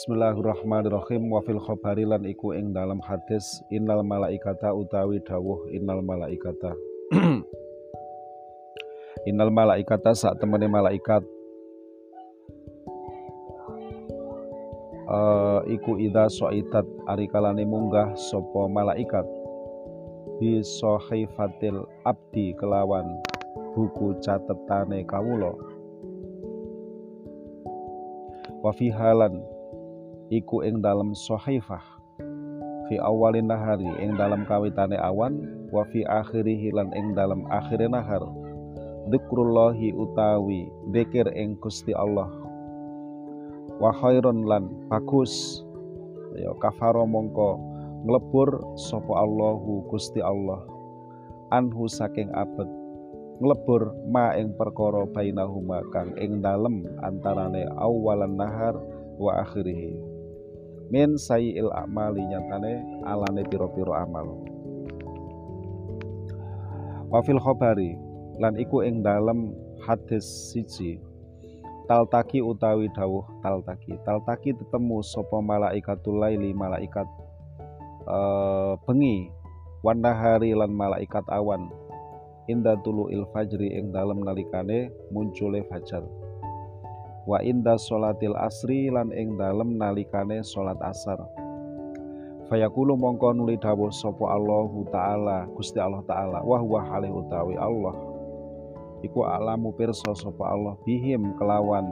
Bismillahirrahmanirrahim. Wa fil khabari lan iku ing dalam hadis innal malaikata utawi dawuh innal malaikata innal malaikata sak temene malaikat iku idza soitat arikalane munggah sapa malaikat bi sahifatil abdi kelawan buku catetane kawula wa fi halan iku ing dalam sahifah fi awalin nahari ing dalam kawitane awan wa fi akhirihi lan ing dalam akhire nahar dzikrullahi utawi dzikir ing Gusti Allah wa khairun lan bagus ya kafaro mongko nglebur sapa Allahu Gusti Allah anhu saking abet nglebur ma ing perkara bainahuma kang ing dalem antarane awalan nahar wa akhirih min sayyil a'mali nyatane alane piro-piro amal. Wa fil khabari lan iku ing dalem hadis siji taltaki utawi dawuh taltaki tetemu sapa malaikatul laili malaikat bengi wan nahari lan malaikat awan inda tulu'il fajri ing dalem nalikane muncule fajar wa inda sholatil asri lan ing dalem nalikane sholat asar fayaqulu mongko nuli dawuh sapa Allahu taala Gusti Allah taala wa huwa halih utawi Allah iku alamu pirsa sapa Allah bihim kelawan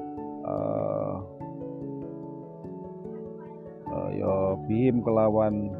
bihim kelawan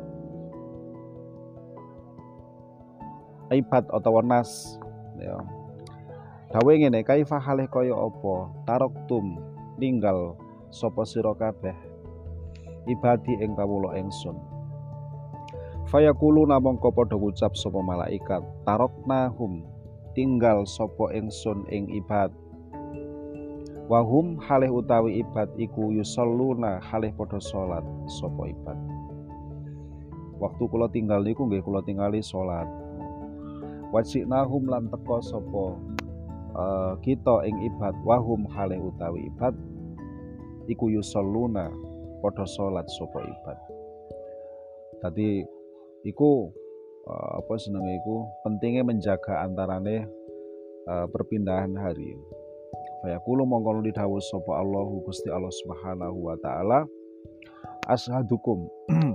ibad utawa nas ya. Dawe ngene kaifa halih kaya apa taroktum ninggal sapa sira kabeh ibadi ing kawula ingsun fayaquluna mongko padha ngucap sapa malaikat taroknahum tinggal sapa ingsun ing ibad wahum halih utawi ibad iku yusalluna halih padha salat sapa ibad waktu kula tinggal niku nggih kula tingali salat wajinahum lan teka sapa kita ing ibad wahum halih utawi ibad iku yusalluna padha salat sapa ibad. Dadi iku apa jenenge iku pentingnya menjaga antarane perpindahan hari. Fayaqulu mongko didhawuh sapa Allahu Gusti Allah Subhanahu wa taala ashadukum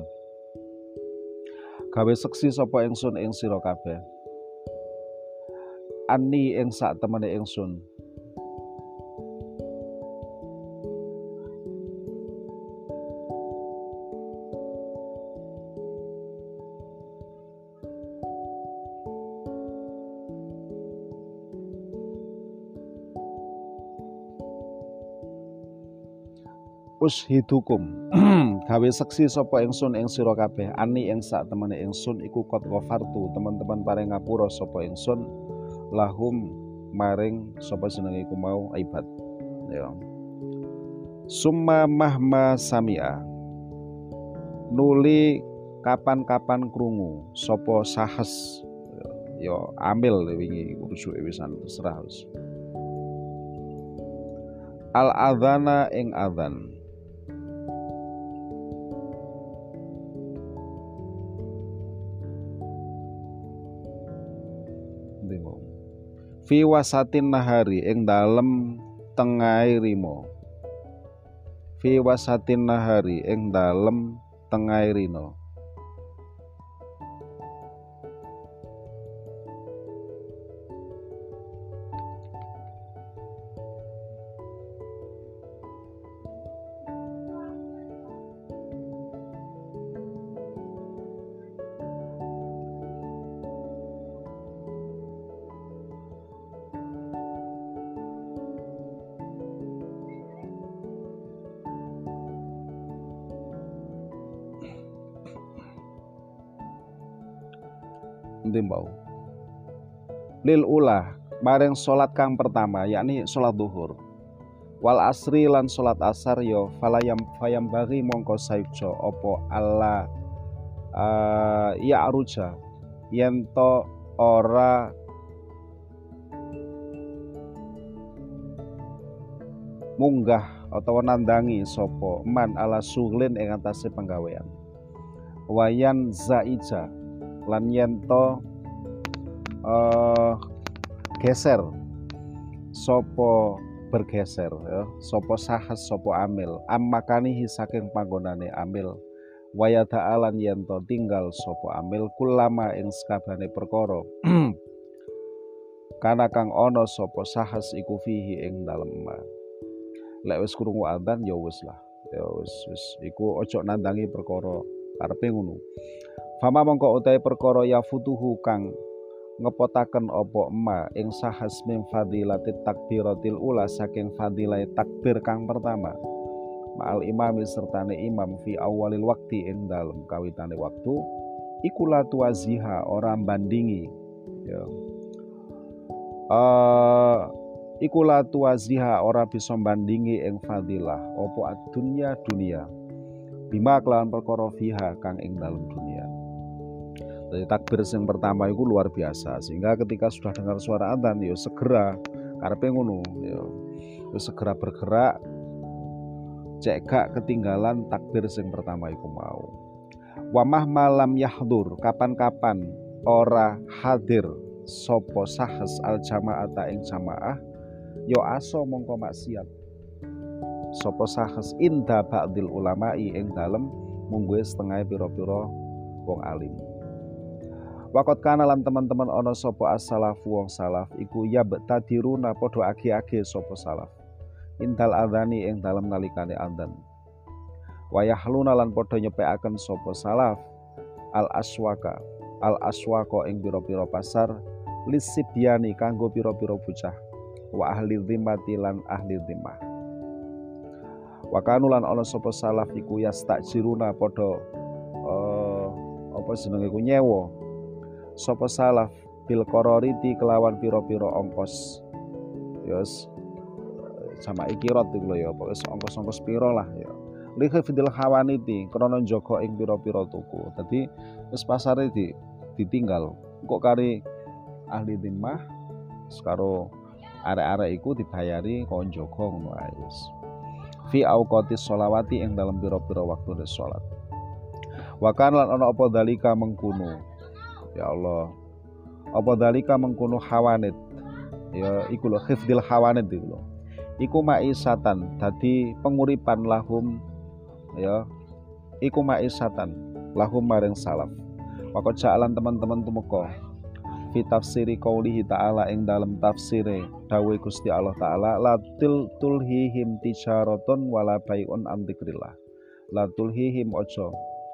gawe seksi sapa ingsun ing sira kabeh ani ing sak temene ingsun ushidukum gawe seksi sapa ingsun ing sira kabeh ani ing sak temene ingsun iku qad ghafartu teman-teman paring ngapura sapa ingsun lahum maring sapa jenenge iku mau ibad ya summa mahma samia nuli kapan-kapan krungu sapa sahes ya amil wingi rujuke wisan terserah al adzana ing adzan fi wasatin nahari ing dalem tengahe rino fi wasatin nahari ing dalem tengahe rino ndimbau lil ulah bareng salat kang pertama yakni salat zuhur wal asri lan salat asar yo fayam bagi mongko sayuja apa Allah ya aruja yen to ora munggah utawa nandangi sapa man ala suglin ing atase penggawean. Wayan zaija lan yen to geser sapa bergeser ya sapa sahas sapa amil ammakanihi saking panggonane amil waya ta'alan yen to tinggal sapa amil kulama ing sakabehane perkara kana kang ana sapa sahas iku fihi ing dalem ma. Lek wis krungu adzan ya wis lah ya wis iku ojo nandangi perkara karepe ngono. Fama mongko utahe perkara ya futuhu kang ngepotaken apa ma ing sahas min fadilatit takbiratil ula saking fadilah takbir kang pertama ma'al imami sertane imam fi awalil wakti ing dalem kawitane waktu iku la tuaziha ora bandingi ya iku la tuaziha ora bisa bandingi ing fadilah apa dunya bima kelawan perkara fiha kang ing dalem dunia. Jadi takbir yang pertama itu luar biasa sehingga ketika sudah dengar suara adzan ya segera karepe ngono ya segera bergerak cek gak ketinggalan takbir yang pertama itu mau. Wamah malam yahdur kapan-kapan ora hadir sapa sahas al jamaata ing jamaah ya aso mongko maksiat sapa sahas inda ba'dil ulama'i ing dalem mungguhe setengah pira-pira wong alim. Wakot kana lan teman-teman ana sapa as-salaf wong salaf iku ya betadiruna padha age-age sapa salaf indal adzani ing dalem nalikane adzan. Wayahluna lan padha nyepekaken sapa salaf al aswaka ing pira-pira pasar lisibyani kanggo pira-pira bocah wa ahli dhimmati lan ahli dhimmah. Wakanu lan ana sapa salaf iku yastajiruna padha apa jenenge ku nyewa sapa salaf bil qarariti kelawan pira-pira ongkos yos sama ikirat iku lho ya pokoke ongkos-ongkos pira lah ya likhfidil hawaniti krana njaga ing pira-pira tuku. Dadi wis pasare ditinggal kok kari ahli dhimmah karo arek-arek iku dibayari kon njaga ngono ae wis fi auqatis sholawati ing dalam pira-pira waktune salat. Wa kan lan ana apa dalika mengkuno ya Allah apa dalika mengkuno hawanit ya iku lho khifdil hawanit iku lho iku maisatan dadi penguripan lahum ya iku maisatan lahum maring salaf. Wakot jalan teman-teman tumeka fi tafsiri qaulihi ta'ala ing dalam tafsire dawuh Gusti Allah taala la tulhihim tijaratun wala bai'un an dzikrillah. La tulhihim ojo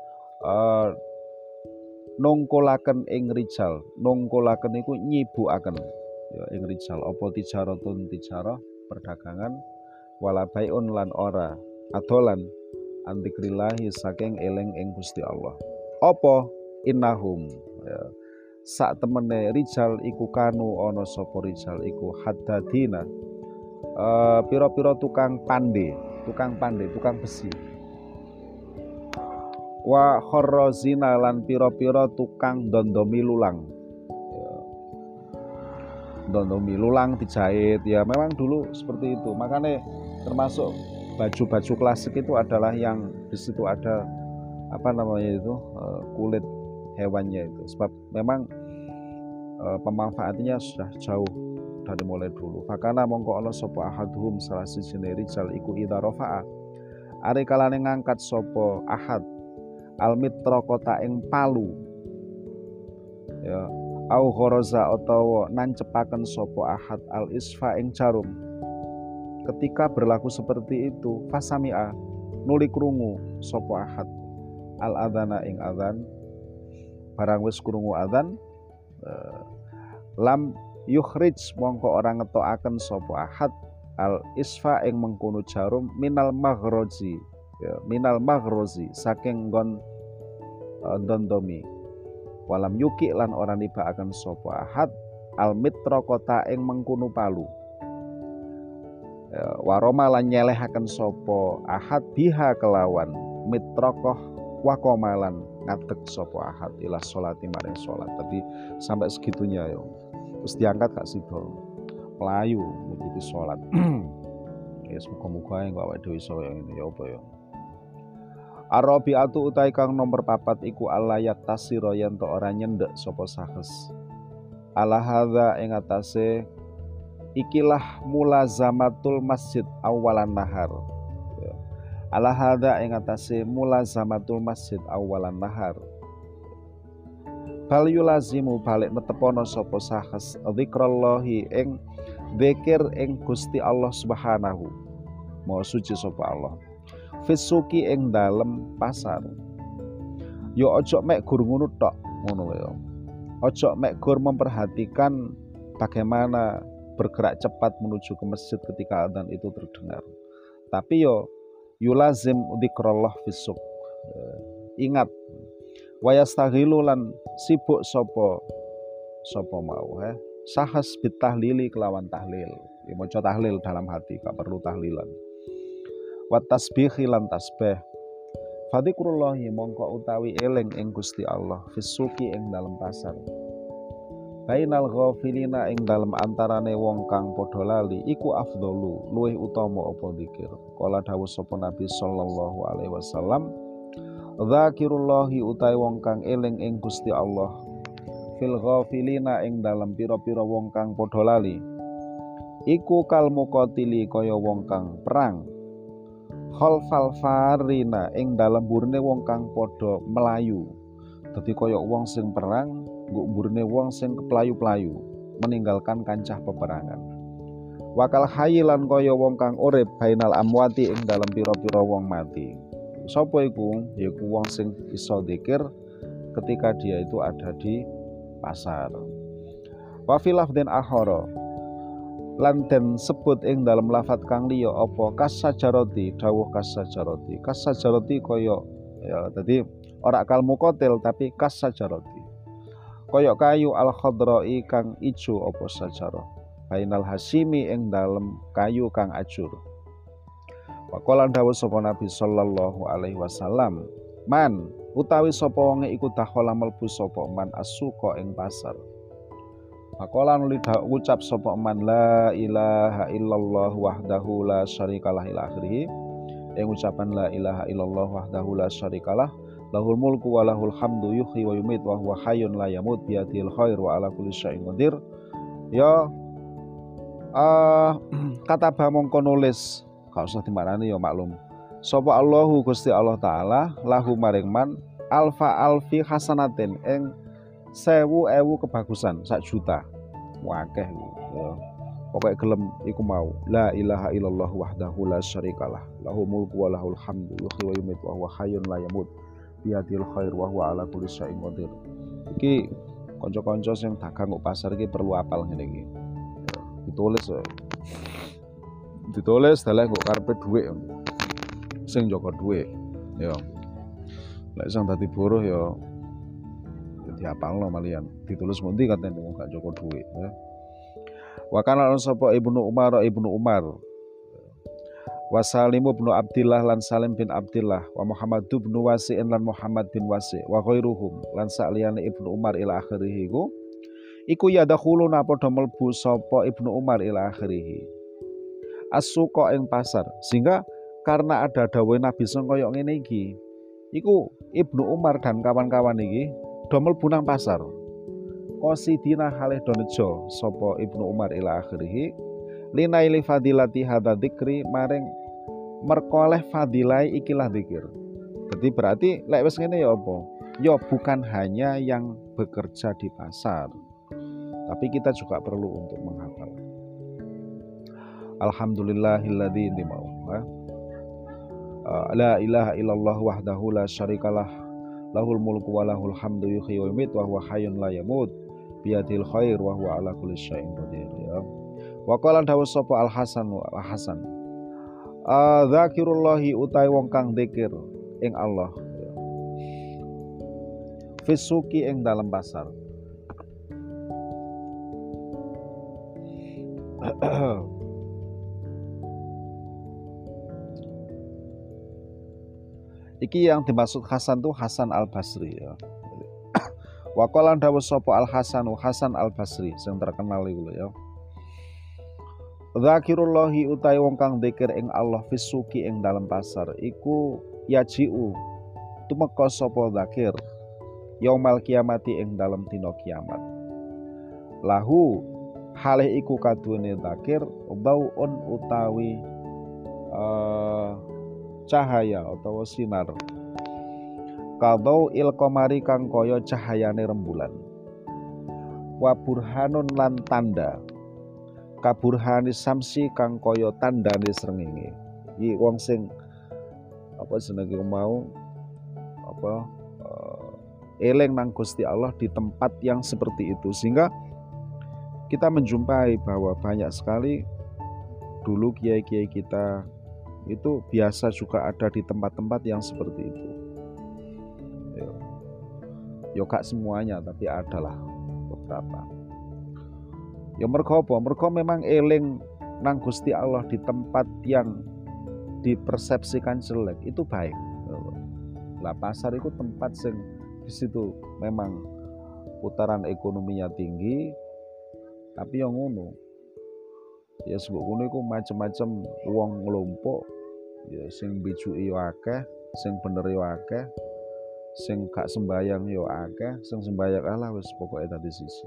nongkolaken ing rijal. Nongkolaken iku nyibukaken ya ing rijal apa tijaratun tijarah perdagangan wala bai'un lan ora adolan an dzikrillah saking eling ing Gusti Allah. Apa innahum ya sak temene rijal iku kanu ana sapa rijal iku haddadina pira-pira tukang pandai, tukang besi. Wa kharrazina lan pira-pira tukang dondomi lulang. Ya. Dondomi lulang dijahit ya memang dulu seperti itu. Makanya termasuk baju-baju klasik itu adalah yang di situ ada apa namanya itu kulit hewannya itu. Sebab memang pemanfaatannya sudah jauh dari mulai dulu. Fakana mongko ana sapa ahaduhum salah sijine rijal iku idza rafa'a are kalane ngangkat sapa ahad almitra kota ing palu ya au gharaza utawa nancepaken sapa ahad al isfa ing jarum. Ketika berlaku seperti itu fasami'a nuli krungu sapa ahad al adzana ing adzan barang wis krungu adzan lam yukhrij mongko orang ngetokaken sapa ahad al isfa ing mengkono jarum minal maghrozi ya minal maghrozi saking nggon dondomi walam yuki lan ora nibakaken sapa ahad al mitra kota ing mengkono palu ya, waroma lan nyelehaken sapa ahad biha kelawan mitrakoh wakomalan ngadeg sapa ahad ila sholati maring sholat. Tapi sampai segitunya ya terus diangkat gak sido melayu menuju sholat Ya muga-muga engko awake dhewe iso kaya ngene ya apa ya. Arabiatu utai kang nomor 4 iku alayat tasira yen to ora nyendek sapa sahes. Ala hadza ing atase ikilah mulazamatul masjid awalan nahar. Ala hadza ing atase mulazamatul masjid awalan nahar. Bal yulazimu balik netepono sapa sahes zikrallahi ing zikir ing Gusti Allah Subhanahu. Maha suci sapa Allah. Fisuki ing dalem pasar. Yo ojo mek gur ngono tok, ngono ya. Ojo mek gur memperhatikan bagaimana bergerak cepat menuju ke masjid ketika adzan itu terdengar. Tapi yo yulazim dzikrullah fisuk. Ingat wayastaghilu lan sibuk sapa mau sahas bitahlili kelawan tahlil. Ya maca tahlil dalam hati, gak perlu tahlilan. Wa tasbihi lan tasbih. Fadzikrullahi mongko utawi eling ing Gusti Allah fisuki ing dalam pasar. Bainal ghafilina ing dalam antarane wong kang padha lali iku afdalu luwih utama apa zikir. Kala dawuh sapa Nabi sallallahu alaihi wasallam, "Dzakirullahi utai wong kang eling ing Gusti Allah fil ghafilina ing dalam pira-pira wong kang padha lali iku kal muqatili kaya wong kang perang. Khalfal farina ing dalam burine wong kang padha melayu. Dadi kaya wong sing perang nggo burine wong sing keplayu-playu meninggalkan kancah peperangan. Wakal hayyilan kaya wong kang urip bainal amwati ing dalam pira-pira wong mati. Sapa iku? Yaiku wong sing iso zikir ketika dia itu ada di pasar. Wa fil lafdhin akhara lan den sebut ing dalam lafat kang liya apa kasajaroti dawuh kasajaroti kaya ya dadi ora kal muqatil tapi kasajaroti kaya kayu al khadra'i kang ijo apa sajarah bainal hasimi ing dalam kayu kang ajur. Waqala dawuh sapa Nabi sallallahu alaihi wasallam, man utawi sapa wonge iku dakhala mlebu sapa man asuqa ing pasar. Maqala nuli ucap sapa man la ilaha illallah wahdahu la syarikalah ila akhirih. Ing ucapan la ilaha illallah wahdahu la syarikalah lahul mulku wa lahul hamdu yuhyi wa yumit wa huwa hayyun la yamut bi yadihil khair wa ala kulli syai'in qadir. Ya kata mongko nulis gak usah dimarani ya maklum. Sapa Allahu Gusti Allah taala lahu maring man alfa alfi hasanatin ing 1000 kebagusan 1 juta. Wakeh ya. Pokoke gelem iku mau la ilaha illallah wahdahu la syarikalah lahul mulku wa lahul hamdu yuhyi wa yumiitu wa huwa hayyun la yamut biyadil khair wa huwa ala kulli syai'in qadir. Iki kanca-kanca sing dagang kok pasar iki perlu apal ngene iki. Ditulis dalah kok karepe dhuwit sing jaga dhuwit ya. Lek sing dadi buruh ya diapalno malian ditulis mundi katene wong gak jaga dhuwit ya. Wa kana sapa Ibnu Umar wa Salim bin Abdillah lan Salim bin Abdillah wa Muhammad bin Wasi' lan Muhammad bin Wasi' wa ghairuhum lan sakliyane Ibnu Umar ila akhirih iku yadkhuluna padha mlebu sapa Ibnu Umar ila akhirih as-suqa ing pasar. Sehingga karena ada dawuh Nabi sing kaya ngene iki iku Ibnu Umar dan kawan-kawan iki do mlebu nang pasar. Qasidina halih do nejo sapa Ibnu Umar ila akhirih linaili fadilati hadza dzikri maring merkoleh fadilai ikilah zikir. Jadi berarti lek wis ngene ya apa? Ya bukan hanya yang bekerja di pasar, tapi kita juga perlu untuk menghafal. Alhamdulillahilladzi dimau. La ilaha illallah wahdahu la syarikalah lahul mulku wa lahul hamdu yuhyi wa yumiitu wa huwa hayyun la yamut biyadil khair wa huwa ala kulli syai'in qadir ya. Wa qala dawuh sapa Al Hasan zakirullahi utai wong kang zikir ing Allah ya. Fisuki ing dalam pasar. Iki yang dimaksud Hasan tuh Hasan Al Basri ya. Wa qala dawuh sapa Al Hasan Hasan Al Basri sing terkenal iku ya. Zakirullahi utai wong kang dzikir ing Allah fisuki ing dalam pasar iku yajiu tumeka sapa zakir yaumal kiamati ing dalam dina kiamat. Lahu halih iku kaduwene zakir bauun utawi cahaya utawa sinar kadau il qamari kang kaya cahayane rembulan wa burhanun lan tanda kaburhani samsi kang kaya tandane srengenge. Iki wong sing apa jenenge mau apa eling nang Gusti Allah di tempat yang seperti itu, sehingga kita menjumpai bahwa banyak sekali dulu kiai-kiai kita itu biasa juga ada di tempat-tempat yang seperti itu. Yo gak semuanya tapi adalah beberapa. Ya mergo apa? Mergo memang eling nang Gusti Allah di tempat yang dipersepsikan jelek itu baik. Lah pasar itu tempat sing di situ memang putaran ekonominya tinggi, tapi yang ngono. Ya sebab ngono iku macam-macam wong nglompok, ya sing bijuki yo akeh, sing bener yo akeh, sing gak sembayang yo akeh, sing sembayang Allah wis pokoke tadi sisi.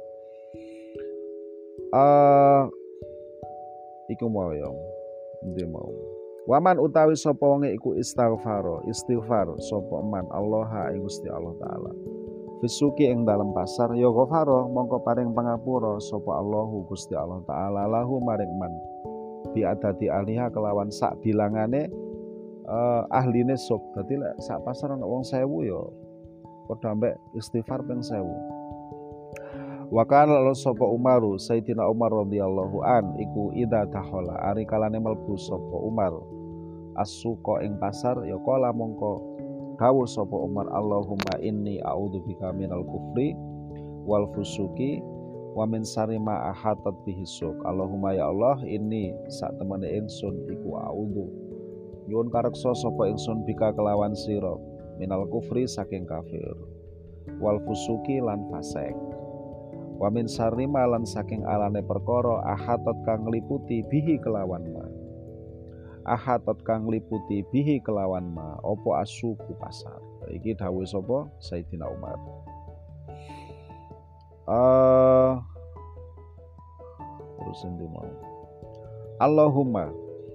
Iku mau ya, ndi mau. Waman utawi sapa wong iku istighfar sapa man Allah ing Gusti Allah taala. Fisuki ing dalam pasar ya ghafara mongko paring pangapura sapa Allahu Gusti Allah taala lahu maring man. Bi adati aliha kelawan sak bilangane ahline sop. Dadi lek sak pasar ana wong 1000 ya padha ambek istighfar ping 1000. Wa kana lalu sapa Umaru Sayyidina Umar radhiyallahu an iku idza tahola ari kalane mlebu sapa Umar as-suqa ing pasar ya kala mongko dawuh sapa Umar Allahumma inni a'udzubika minal kufri wal fusuki wa min syarri ma ahatat bihi suq. Allahumma ya Allah inni sak temene ingsun iku a'udzu nyuwun kareksa sapa ingsun bika kelawan sira minal kufri saking kafir wal fusuki lan fasik wa min syarri ma lan saking alane perkara ahatat kang ngliputi bihi kelawan ma ahatat kang ngliputi bihi kelawan ma apa asuku pasar. Iki dawuh sapa Sayyidina Umar. Terus endi mau Allahumma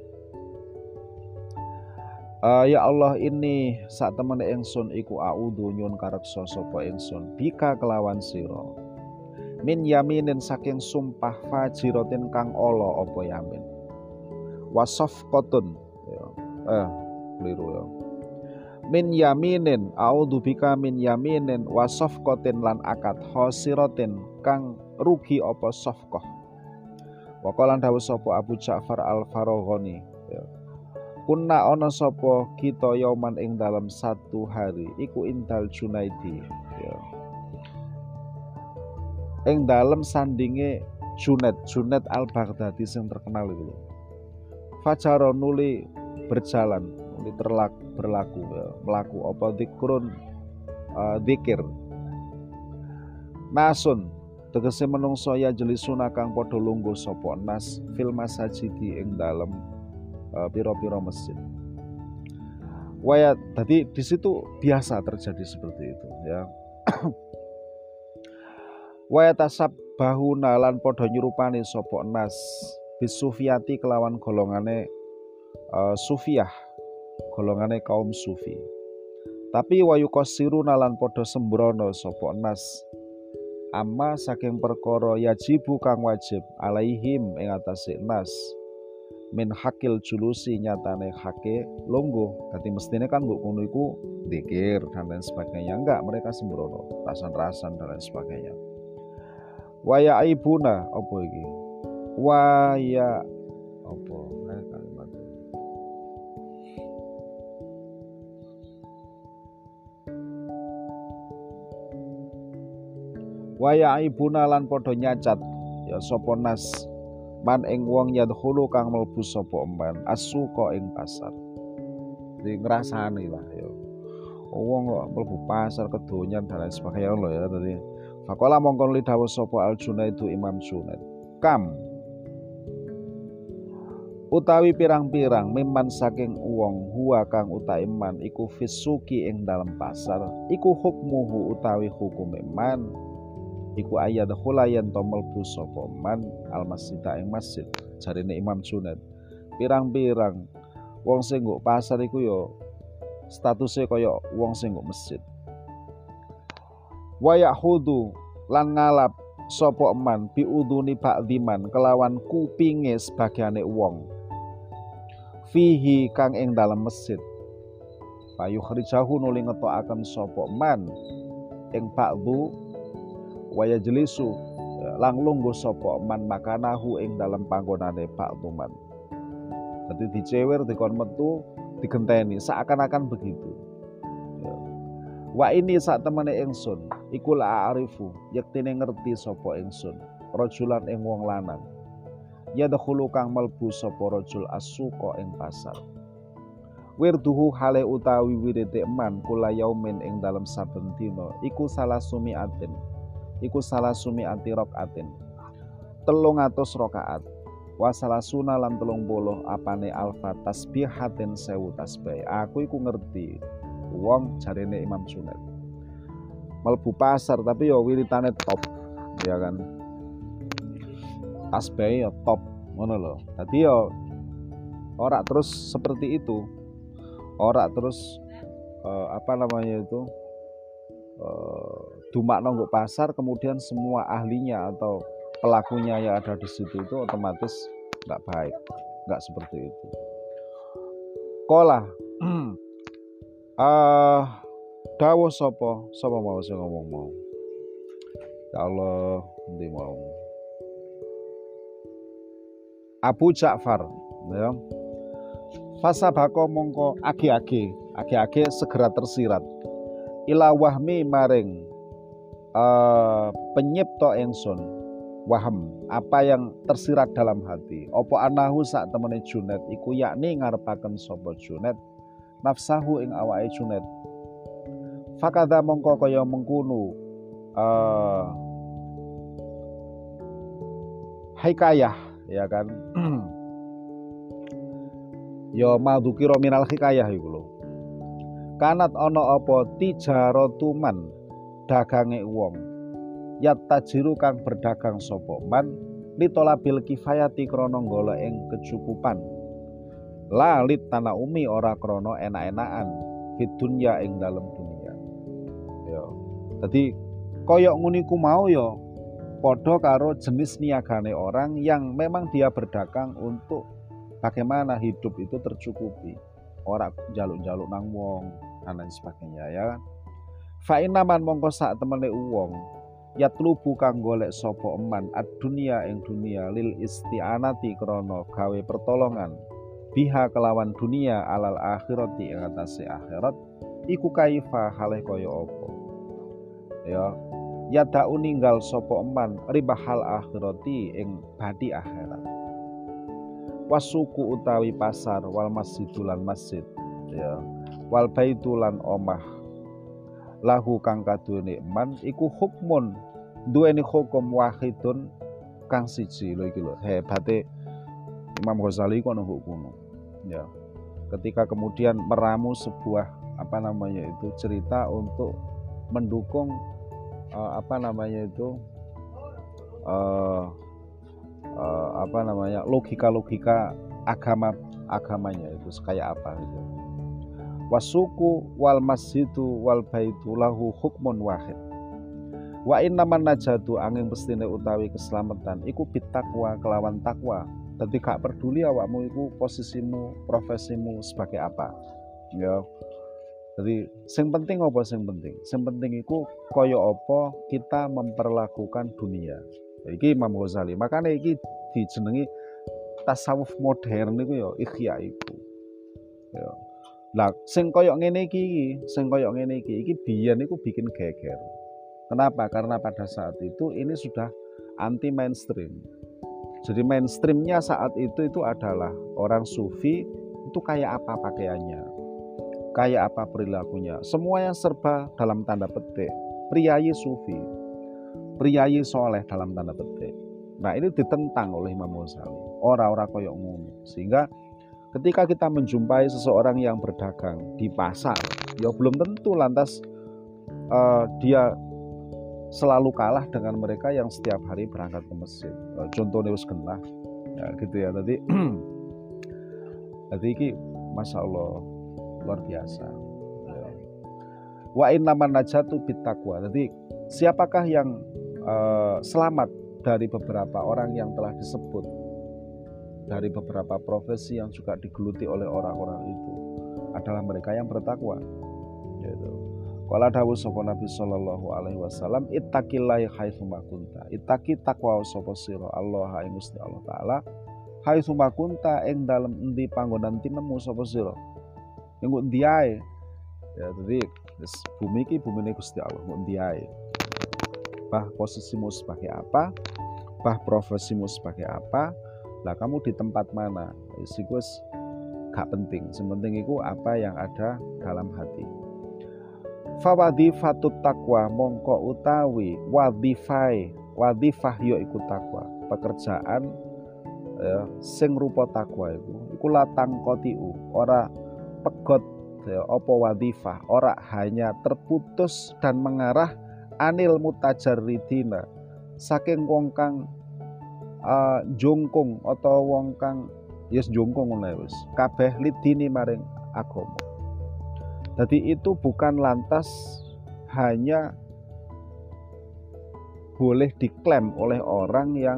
ya Allah ini sak temene ingsun iku a'udzu nyun kareksa sapa ingsun bika kelawan sira min yaminin saking sumpah fajiratin kang ala apa yamin wasafqatun keliru ya min yaminin a'udzubika min yaminin wasafqatin lan akad khosiratin kang rugi apa safqah wa qala dawuh sapa Abu Ja'far Al-Faraghani ya kunna ana sapa kita yauman ing dalam satu hari iku indal Junaidi ya ing dalem sandinge Junaid Al-Baghdadi sing terkenal itu. Fajaro nuli berjalan, nuli berlaku ya, melaku apa zikrun zikir. Nasun tegese menungso ya jelisuna kang padha lungguh sapa nas fil masajidi ing dalem pira-pira masjid. Waya tadi di situ biasa terjadi seperti itu ya. Wa tasabbahuna lan padha nyurupani sapa nas bisufiyati kelawan golongane sufiyah golongane kaum sufi. Tapi wa yuqassiruna lan padha sembrono sapa nas amma saking perkara yajibu kang wajib alaihim ing atase nas min hakil julusi nyatane hake lungguh. Dadi mestine kan mbok ngono iku zikir dan lain sebagainya. Enggak, mereka sembrono, rasan-rasan dan lain sebagainya. Waya aibuna apa iki? Waya apa? Kalimat waya aibuna lan padha nyacat ya sapa nas man ing wong yadkhulu kang mlebu sapa man asuqa ing pasar. Di ngrasani lah ya. Wong kok mlebu pasar kedonyan dan lain sebagainya lho ya tadi. Faqala mongkon li dawuh sapa Al Junaidu Imam Junaid. Kam utawi pirang-pirang miman saking wong huwa kang utai man iku fisuki ing dalam pasar iku hukmuhu utawi hukum man iku ayat khulayan to mlebu sapa man al masjida ing masjid. Jarine Imam Junaid, pirang-pirang wong sing nggo pasar iku ya statusé kaya wong sing nggo masjid. Wa yahudu lan ngalap sapa man biuduni ba'diman kelawan kupinge sebagiane wong fihi kang ing dalam masjid. Payu khrijahu nuli ngetokaken sapa man ing ba'du wa yajlisu lang lungguh sapa man makanahu ing dalam panggonane ba'du man. Dadi dicewer dikon metu digenteni seakan-akan begitu. Wa ini sak temene ingsun iku la arifu yektine ngerti sapa ingsun rajulan ing wong lanang ya dakhulu kang melbu sapa rajul asuqa ing pasar wirduhu hale utawi wirite man kula yaumin ing dalem saben dina iku salah sumi atin raqatin 300 rakaat wa salasuna lan 30 apane alfa tasbihatin 1000 tasbih. Aku iku ngerti wong jarene Imam Junaid melbu pasar tapi ya wiritane top ya kan, tasbih ya top ngono lho. Dadi ya ora terus seperti itu, ora terus dumakno nggo pasar kemudian semua ahlinya atau pelakunya yang ada di situ itu otomatis nggak baik, nggak seperti itu. Kola dawuh sapa mau sing ngomong mau. Ya Allah, endi mau. Abu Ja'far, ya. Fasabako mongko age-age segera tersirat. Ila wahmi maring penyipta ingsun. Waham, apa yang tersirat dalam hati. Apa anahu sak temene Junaid iku yakni ngarepaken sapa Junaid nafsahu ing awake Junaid. Fakadha mongko kaya mengkono hikayah ya kan. Ya madukira minal hikayah iku lho. Kanat ana apa tijaratuman dagange wong. Yat tajiru kang berdagang sapa man litolabil kifayati krana golek ing kecukupan. Lalit tanah umi ora krana enak-enakan fid dunya ing dalem dunia. Ya. Dadi kaya nguniku mau ya padha karo jenis niagane orang yang memang dia berdagang untuk bagaimana hidup itu tercukupi, ora jaluk-jaluk nang wong dan lain sebagainya ya. Fa inaman mongko sak temene wong yatlubu kang golek sapa eman ad-dunya ing dunia lil isti'anati krana gawe pertolongan biha kelawan dunia alal akhirati ing atase akhirat iku kaifa hale kaya apa ya. Ya da'u ninggal sapa eman ribahal akhirati ing badi akhirat. Wasuku utawi pasar wal masjidulan masjid ya. Wal baitulan omah lahu kang kaduweni eman iku hukmun duweni hukum wahidun kang siji lho iki lho hebate Imam Ghazali ku ono hukum ya. Ketika kemudian meramu sebuah cerita untuk mendukung logika-logika agamanya itu kayak apa gitu. Wasuku wal masjidu wal baitu lahu hukmun wahid. Wa innaman najatu angin pestine utawi keselamatan iku bitakwa kelawan takwa. Dadi gak peduli awakmu iku posisimu, profesimu sebagai apa. Ya. Jadi sing penting apa sing penting? Sing penting iku kaya apa kita memperlakukan dunia. Iki Imam Ghazali. Makanya iki dijenengi tasawuf modern iku ya ikhya iku. Ya. Lah sing kaya ngene iki biyen iku bikin geger. Kenapa? Karena pada saat itu ini sudah anti mainstream. Jadi mainstreamnya saat itu adalah orang sufi itu kayak apa pakaiannya, kayak apa perilakunya, semuanya serba dalam tanda petik priayi sufi, priayi soleh dalam tanda petik. Nah, ini ditentang oleh Imam Ghazali. Ora koyok ngono. Sehingga ketika kita menjumpai seseorang yang berdagang di pasar, ya belum tentu lantas dia selalu kalah dengan mereka yang setiap hari berangkat ke masjid. Contohnya wis genah, ya gitu ya. Tadi ini masya Allah luar biasa. Wa innaman najatu bittaqwa. Jadi siapakah yang selamat dari beberapa orang yang telah disebut, dari beberapa profesi yang juga digeluti oleh orang-orang itu, adalah mereka yang bertakwa. Gitu. Qala dawuh sapa Nabi sallallahu alaihi wasallam, ittaqillaha haitsu ma kunta. Ittaqi taqwa sapa sira Allah ing Gusti Allah taala haitsu ma kunta ing dalem endi panggonan tinemu sapa sira. Ing endi ae. Ya jadi bumi iki bumine Gusti Allah, endi ae. Bah posisimu sebagai apa? Bah profesimu sebagai apa? Lah kamu di tempat mana? Itu gak penting. Yang penting itu apa yang ada dalam hati. Fawadhifatut taqwa mongko utawi wadhifah ya iku takwa. Pekerjaan sing rupa takwa iku latang kotiu, ora pegot ya, apa wadhifah, ora hanya terputus dan mengarah anil mutajarridina saking wong kang jongkong atau wong kang yes jongkong ngono wis kabeh lidini maring agama. Jadi itu bukan lantas hanya boleh diklaim oleh orang yang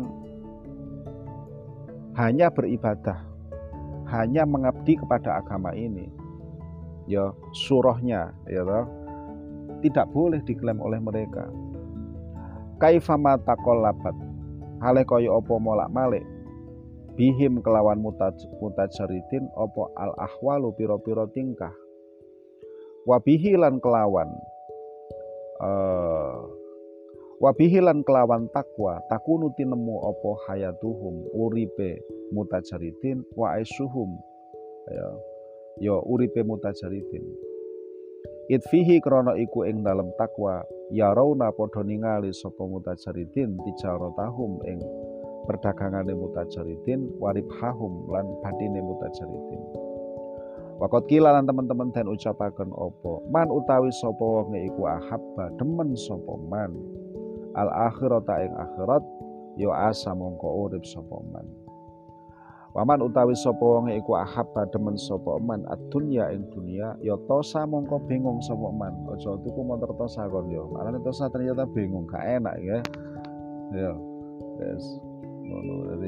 hanya beribadah, hanya mengabdi kepada agama ini. Ya surahnya ya toh, tidak boleh diklaim oleh mereka. Kaifama taqallabat hale kaya apa molak-malik bihim kelawan mutajaridin apa al ahwalu pira-pira tingkah. Wabihilan kelawan takwa takunu tinemu apa hayatuhum uripe mutajaridin wa aisuhum ya uripe mutajaridin itfihi krana iku ing dalem takwa ya rauna padha ningali sapa mutajaridin tijaratahum ing perdagangane mutajaridin waribhahum lan badine mutajaridin. Wakot kila lan teman-teman dan ucapaken opo man utawi sapa wong iku ahabba demen sapa man al akhirata ing akhirat ya asa mongko urip sapa man. Waman utawi sapa wong iku ahabba demen sapa man ad-dunya ing dunya ya tosa mongko bingung sapa man. Aja tuku motor tosa kon yo. Marane tosa ternyata bingung gak enak ya. Ya. Yes. Ngono jadi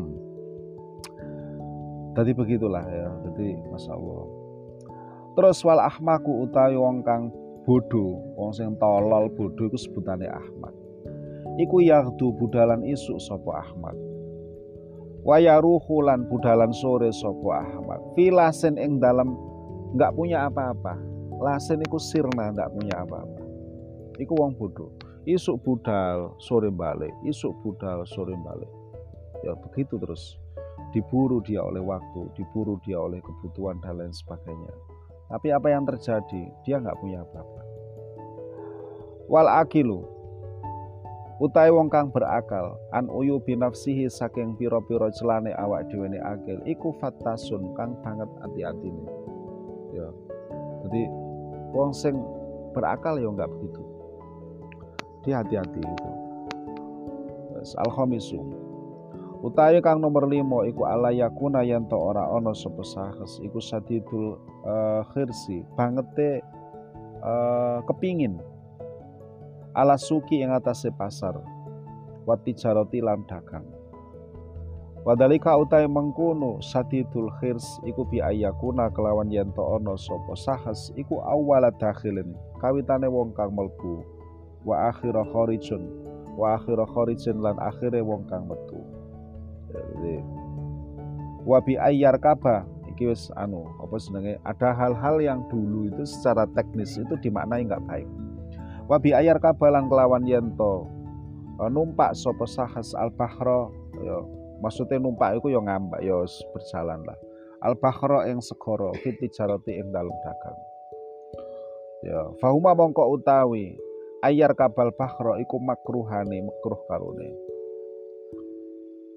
Tadi begitulah ya, jadi masya Allah. Terus wal ahmaku utawi wong kang bodoh, wong sing tolol bodoh iku sebutane ahmak. Iku yaghdu budalan isuk sapa ahmak. Wa yaruhu lan budalan sore sapa ahmak. Filasen ing dalem enggak punya apa-apa. Lasen iku sirna enggak punya apa-apa. Iku wong bodoh. Isuk budal, sore balik. Isuk budal, sore balik. Ya begitu terus. Diburu dia oleh waktu, diburu dia oleh kebutuhan dan lain sebagainya. Tapi apa yang terjadi? Dia nggak punya apa-apa. Wal akilu utai wong kang berakal an uyu binafsihi saking pira-pira celane awak dhewe ne akil iku fattasun kang banget hati-hatine. Ya. Jadi wong sing berakal ya nggak begitu. Dia hati-hati itu. Al-khamisu utawi kang nomor 5 iku ala yakuna yen to ora ana sapa sahes iku sadidul khirsi bangete kepingin ala suki ing atase pasar wa tijarati lan dagang. Wadalika utawi mengkono sadidul khirs iku bi ayakuna kelawan yen to ana sapa sahes iku awwala dakhilin kawitane wong kang mlebu wa akhira kharijun lan akhire wong kang metu. Jadi wabi ayyar kaba iki wis apa jenenge ada hal-hal yang dulu itu secara teknis itu dimaknai enggak baik. Wabi ayyar kaba lan kelawan yento numpak sapa sahas al-bahra ya maksudnya numpak iku ya ngambak ya berjalan lah. Al-bahra ing segara fiti jarati ing dalem dagang. Ya fahuma mongko utawi ayyar kabal bahra iku makruh karone.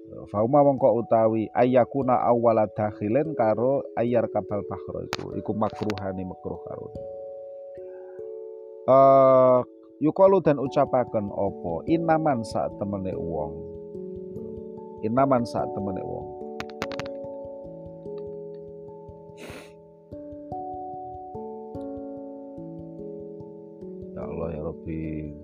Fauma mongko utawi ayakuna awwala dakhilen karo ayar kabal bahro iku makruhani makruh karo. Yukalu dan ucapaken opo inaman saat temene wong. Inaman saat temene wong. Ya Allah ya Rabbi.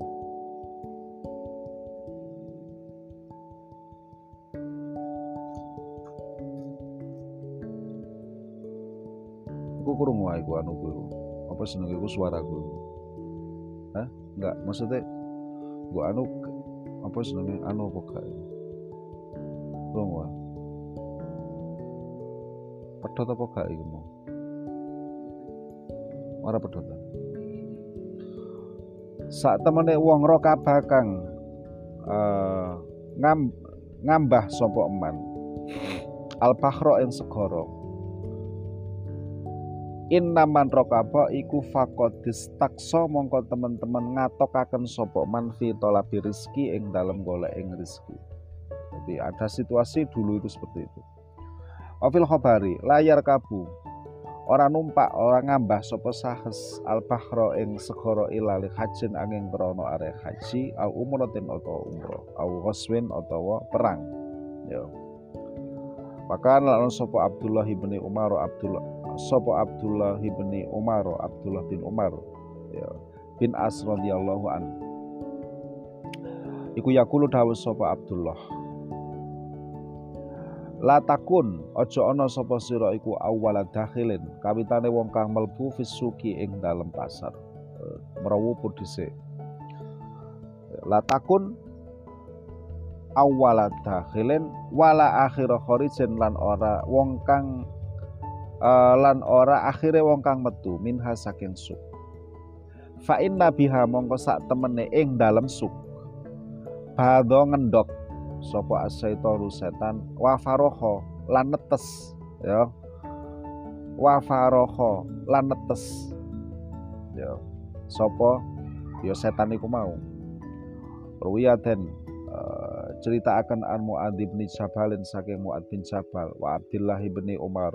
Aku kurung wae ku anu ku. Apa senenge ku suaraku. Hah? Enggak, maksudnya gua anu apa senenge anu apa gak? Kurung wae. Pedhot apa gak iki mau? Ora pedhot. Sak temene wong ro kabakang ngambah sapa eman. Al-bahra ing segara. Innaman rokaba iku fakodis takso mongko teman-teman ngatokaken sapa man fi talabi rizki ing dalem golek ing rizki. Jadi ada situasi dulu itu seperti itu. Wafil khobari layar kabu orang numpak orang ngambah sapa sahes al-bahra ing segara ilali hajin angin krana arek haji au umratin utawa umrah au ghuswin utawa perang. Ya. Maka lan sapa Abdullah bin Umar Abdullah bin Umar ya bin As radhiyallahu an. Iku yaqulu dawuh sapa Abdullah. La takun aja ana sapa sira iku awwala dakhilin kawitane wong kang mlebu fisuki ing dalem pasar. Merawu dhisik. La takun awwala dakhilin wala akhira kharijin lan ora wong kang lan ora akhire wong kang metu minha saking suk. Fa inna biha mongko sak temene ing dalem suk. Badho ngendok sapa asyaitonu setan wa faroho lan netes ya. Wa faroho lan netes. Ya. Sapa ya setan iku mau. Ruwiyaten cerita akan an Mu'adz bin Jabalin saking Mu'adz bin Jabal wa Abdullah bin Umar.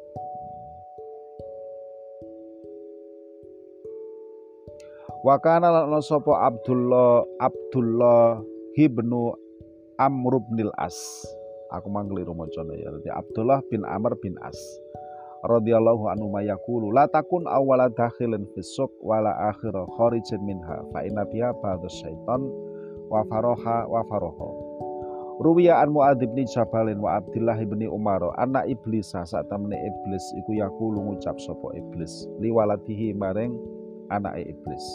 Wa kana lan sapa Abdullah bin Amr bin As. Aku manggeliru macane ya. Dadi Abdullah bin Amr bin As. Radhiyallahu anhu mayaqulu la takun awwala dakhilin fis-suq wala akhira kharijin minha fa inna biha ba'da syaitan wa faroha. Ruwiya an Mu'adz bin Jabalin wa Abdullah bin Umar anak iblis saat temene iblis iku yaqulu ngucap sapa iblis liwaladihi maring anake iblis.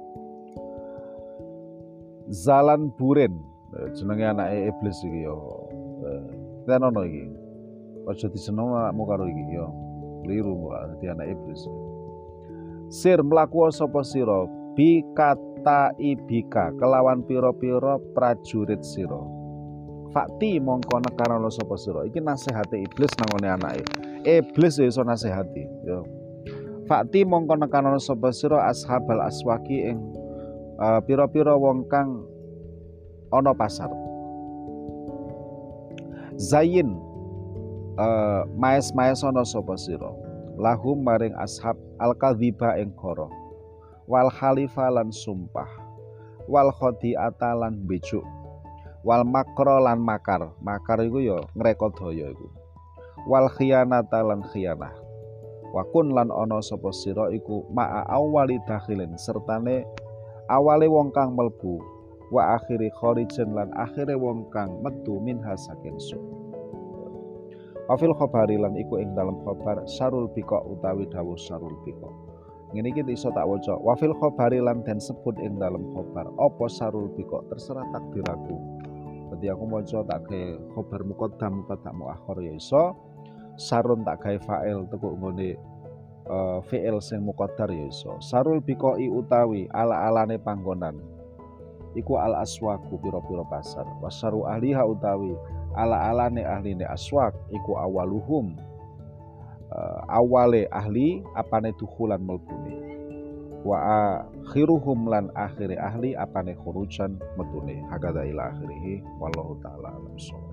Zalan burin jenenge anake iblis iki ya. Tenono iki. Aja diseneng anakmu karo iki ya. Liru dadi anak iblis. Sir mlaku sapa sira bi kata ibika kelawan pira-pira prajurit sira. Fakti mongko nekanono sapa sira. Iki nasihate iblis nangone anake. Iblis ya iso nasihati ya. Fakti mongko nekanono sapa sira ashabal aswaki ing pira-pira wong kang ana pasar. Zayin maes-maes ana sapa sira. Lahum maring ashab al-kadhiba ing kara. Wal khalifa lan sumpah. Wal khadi'ata lan bejuk. Wal makro lan makar. Makar iku ya ngrekodaya iku. Wal khiyanata lan khiyanah. Wa kun lan ana sapa sira iku ma'a awwali dakhilin sertane awale wong kang mlebu wa akhiri kharijin lan akhire wong kang metu minha saking suk. Wafil khobari lan iku ing dalam khobar sarul biko utawi dawuh sarul biko. Ngene iki iso tak waca. Wafil khobari lan den sebut ing dalam khobar apa sarul biko terserah takdir aku. Dadi aku maca tak gawe khobar muqaddam tak muakhir ya iso. Sarun tak gawe fa'il tekuk nggone fi'il sing muqaddar ya iso. Sarul biqoi utawi ala-alane panggonan iku al aswaku pira-pira pasar. Wasaru ahliha utawi ala-alane ahline aswak iku awaluhum awale ahli apane dukhulan melbune. Wa akhiruhum lan akhire ahli apane khurujan metune. Hakadha ila akhirih wallahu taala alam.